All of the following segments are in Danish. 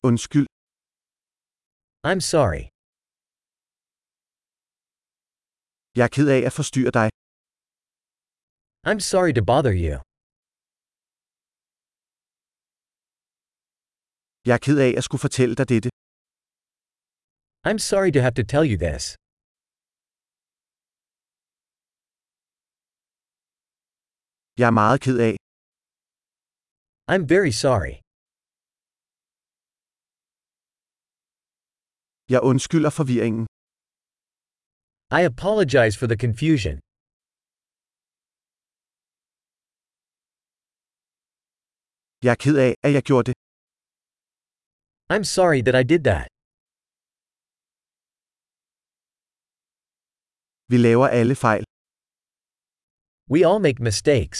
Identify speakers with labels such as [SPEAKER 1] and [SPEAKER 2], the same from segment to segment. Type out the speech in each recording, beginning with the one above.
[SPEAKER 1] Undskyld.
[SPEAKER 2] I'm sorry.
[SPEAKER 1] Jeg er ked af at forstyrre dig.
[SPEAKER 2] I'm sorry to bother you.
[SPEAKER 1] Jeg er ked af at skulle fortælle dig dette.
[SPEAKER 2] I'm sorry to have to tell you this.
[SPEAKER 1] Jeg er meget ked af.
[SPEAKER 2] I'm very sorry.
[SPEAKER 1] Jeg undskylder forvirringen.
[SPEAKER 2] I apologize for the confusion.
[SPEAKER 1] Jeg er ked af, at jeg gjorde det.
[SPEAKER 2] I'm sorry that I did that.
[SPEAKER 1] Vi laver alle fejl.
[SPEAKER 2] We all make mistakes.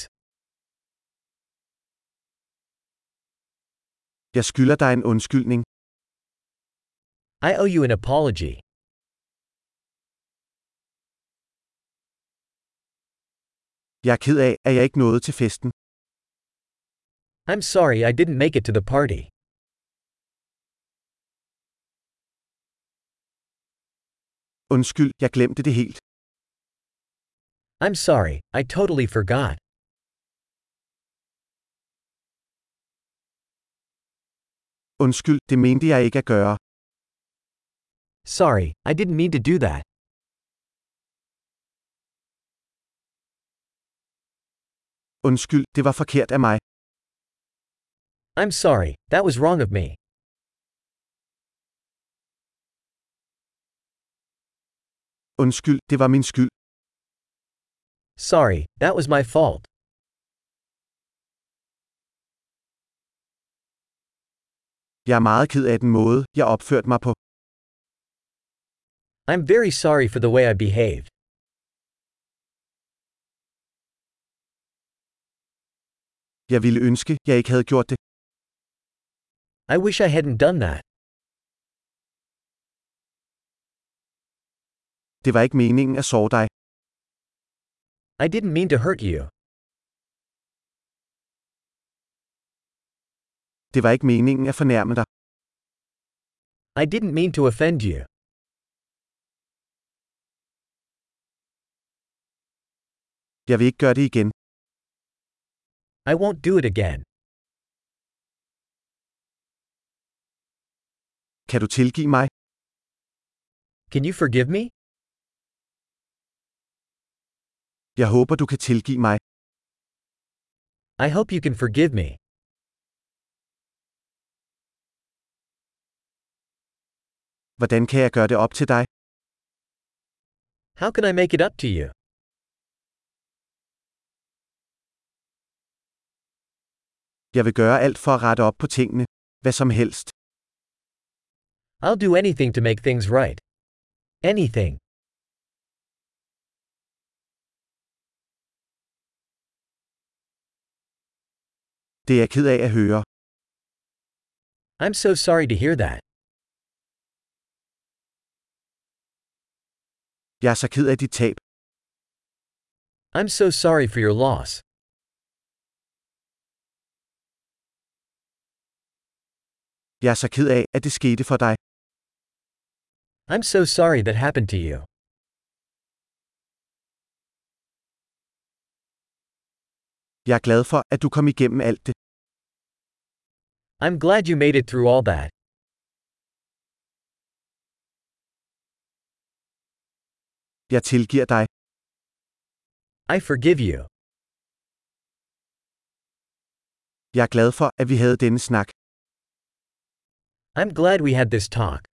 [SPEAKER 1] Jeg skylder dig en undskyldning.
[SPEAKER 2] I owe you an apology.
[SPEAKER 1] Jeg er ked af, at jeg ikke nåede til festen.
[SPEAKER 2] I'm sorry I didn't make it to the party.
[SPEAKER 1] Undskyld, jeg glemte det helt.
[SPEAKER 2] I'm sorry, I totally forgot.
[SPEAKER 1] Undskyld, det mente jeg ikke at gøre.
[SPEAKER 2] Sorry, I didn't mean to do that.
[SPEAKER 1] Undskyld, det var forkert af mig.
[SPEAKER 2] I'm sorry, that was wrong of me.
[SPEAKER 1] Undskyld, det var min skyld.
[SPEAKER 2] Sorry, that was my fault.
[SPEAKER 1] Jeg er meget ked af den måde, jeg opførte mig på.
[SPEAKER 2] I'm very sorry for the way I behaved.
[SPEAKER 1] Jeg ville ønske, jeg ikke havde gjort det.
[SPEAKER 2] I wish I hadn't done that.
[SPEAKER 1] Det var ikke meningen at såre dig.
[SPEAKER 2] I didn't mean to hurt you.
[SPEAKER 1] Det var ikke meningen at fornærme dig.
[SPEAKER 2] I didn't mean to offend you.
[SPEAKER 1] Jeg vil ikke gøre det igen.
[SPEAKER 2] I won't do it again.
[SPEAKER 1] Kan du tilgive mig?
[SPEAKER 2] Can you forgive me?
[SPEAKER 1] Jeg håber, du kan tilgive mig.
[SPEAKER 2] I hope you can forgive me.
[SPEAKER 1] Hvordan kan jeg gøre det op til dig?
[SPEAKER 2] How can I make it up to you?
[SPEAKER 1] Jeg vil gøre alt for at rette op på tingene. Hvad som helst.
[SPEAKER 2] I'll do anything to make things right. Anything.
[SPEAKER 1] Det er jeg ked af at høre.
[SPEAKER 2] I'm so sorry to hear that.
[SPEAKER 1] Jeg er så ked af dit tab.
[SPEAKER 2] I'm so sorry for your loss.
[SPEAKER 1] Jeg er så ked af, at det skete for dig.
[SPEAKER 2] I'm so sorry that happened to you.
[SPEAKER 1] Jeg er glad for, at du kom igennem alt det.
[SPEAKER 2] I'm glad you made it through all that.
[SPEAKER 1] Jeg tilgiver dig.
[SPEAKER 2] I forgive you.
[SPEAKER 1] Jeg er glad for, at vi havde denne snak.
[SPEAKER 2] I'm glad we had this talk.